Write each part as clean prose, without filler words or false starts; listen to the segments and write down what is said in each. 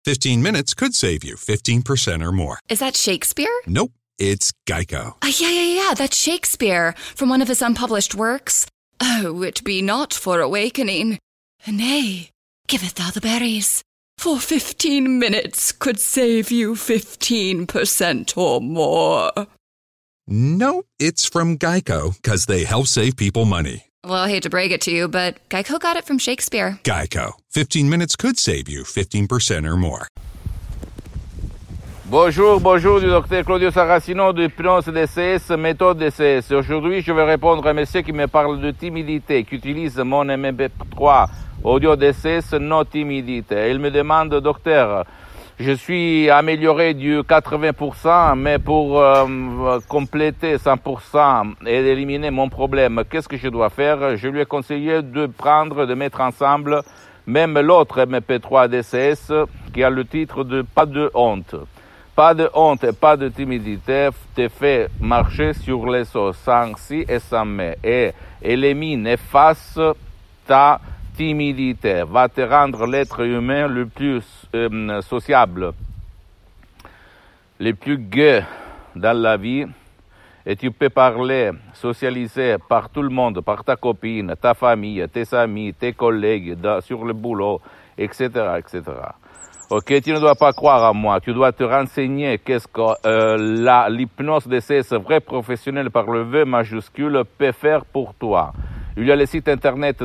15 minutes could save you 15% or more. Is that Shakespeare? Nope, it's Geico. Yeah, that's Shakespeare from one of his unpublished works. Oh, it be not for awakening. Nay, giveth thou the berries. For 15 minutes could save you 15% or more. Nope, it's from Geico, because they help save people money. Well, I hate to break it to you, but Geico got it from Shakespeare. Geico. 15 minutes could save you 15% or more. Bonjour du docteur Claudio Saracino de Hypnose DCS, méthode DCS. Aujourd'hui, je vais répondre à un monsieur qui me parle de timidité, qui utilise mon MP3 audio DCS non timidité. Il me demande, docteur, je suis amélioré du 80%, mais pour compléter 100% et éliminer mon problème, qu'est-ce que je dois faire? Je lui ai conseillé de mettre ensemble même l'autre MP3 DCS qui a le titre de Pas de honte. Pas de honte et pas de timidité te fait marcher sur les os sans si et sans mais et élimine, efface ta timidité, va te rendre l'être humain le plus sociable, le plus gai dans la vie, et tu peux parler, socialiser par tout le monde, par ta copine, ta famille, tes amis, tes collègues, sur le boulot, etc., etc. Ok, tu ne dois pas croire à moi, tu dois te renseigner qu'est-ce que l'hypnose DCS vrai professionnel par le V majuscule peut faire pour toi. Il y a le site internet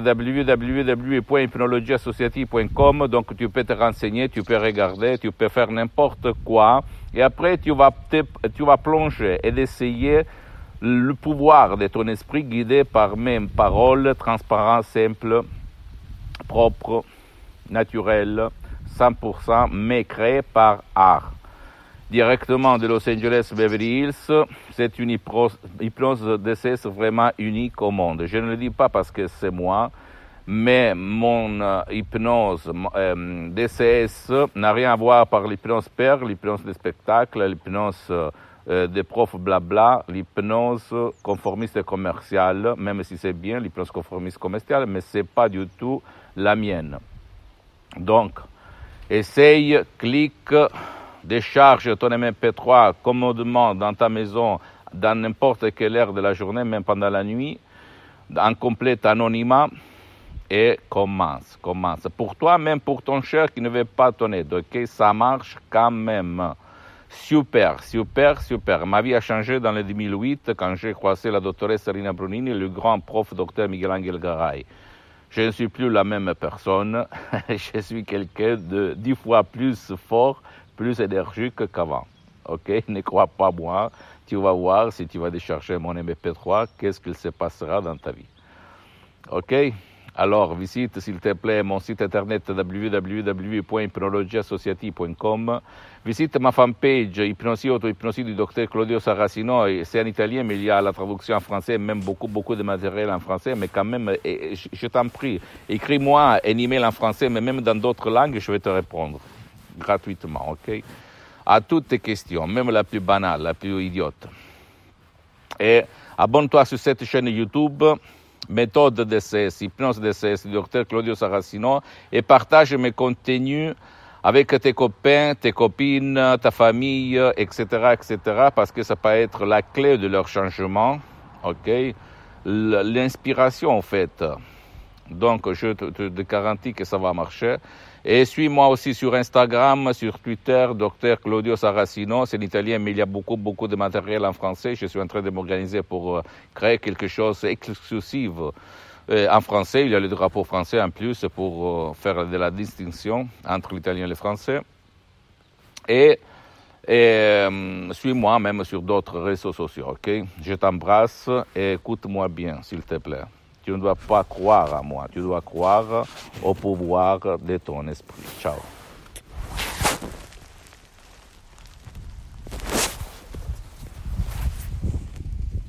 www.hypnologieassociative.com, donc tu peux te renseigner, tu peux regarder, tu peux faire n'importe quoi, et après tu vas plonger et d'essayer le pouvoir de ton esprit guidé par mes paroles transparentes, simples, propres, naturelles, 100%, mais créées par art. Directement de Los Angeles, Beverly Hills, c'est une hypnose DCS vraiment unique au monde. Je ne le dis pas parce que c'est moi, mais mon hypnose DCS n'a rien à voir par l'hypnose père, l'hypnose de spectacle, l'hypnose des profs blabla, l'hypnose conformiste et commerciale, même si c'est bien l'hypnose conformiste commerciale, mais c'est pas du tout la mienne. Donc, essaye, clique, décharge ton MP3 commodément dans ta maison, dans n'importe quelle heure de la journée, même pendant la nuit, en complet anonymat, et commence. Pour toi, même pour ton cher qui ne veut pas ton aide, ok? Ça marche quand même. Super. Ma vie a changé dans le 2008 quand j'ai croisé la doctoresse Rina Brunini et le grand prof docteur Miguel Angel Garay. Je ne suis plus la même personne, je suis quelqu'un de 10 fois plus fort, plus énergique qu'avant. Ok, ne crois pas moi, tu vas voir si tu vas décharger mon MP3, qu'est-ce qu'il se passera dans ta vie. Ok, alors visite s'il te plaît mon site internet www.hypnologieassociative.com, visite ma fanpage Hypnosie Auto-Hypnosie du docteur Claudio Saracino, c'est en italien mais il y a la traduction en français, même beaucoup de matériel en français, mais quand même, je t'en prie, écris-moi un email en français, mais même dans d'autres langues, je vais te répondre. Gratuitement, ok? À toutes tes questions, même la plus banale, la plus idiote. Et abonne-toi sur cette chaîne YouTube, méthode DCS, hypnose DCS, du docteur Claudio Saracino, et partage mes contenus avec tes copains, tes copines, ta famille, etc., parce que ça peut être la clé de leur changement, ok? L'inspiration, en fait. Donc, je te garantis que ça va marcher. Et suis-moi aussi sur Instagram, sur Twitter, Dr Claudio Saracino. C'est en italien, mais il y a beaucoup de matériel en français. Je suis en train de m'organiser pour créer quelque chose d'exclusif en français. Il y a le drapeau français en plus pour faire de la distinction entre l'italien et le français. Et suis-moi même sur d'autres réseaux sociaux, ok? Je t'embrasse et écoute-moi bien, s'il te plaît. Tu ne dois pas croire à moi, tu dois croire au pouvoir de ton esprit. Ciao.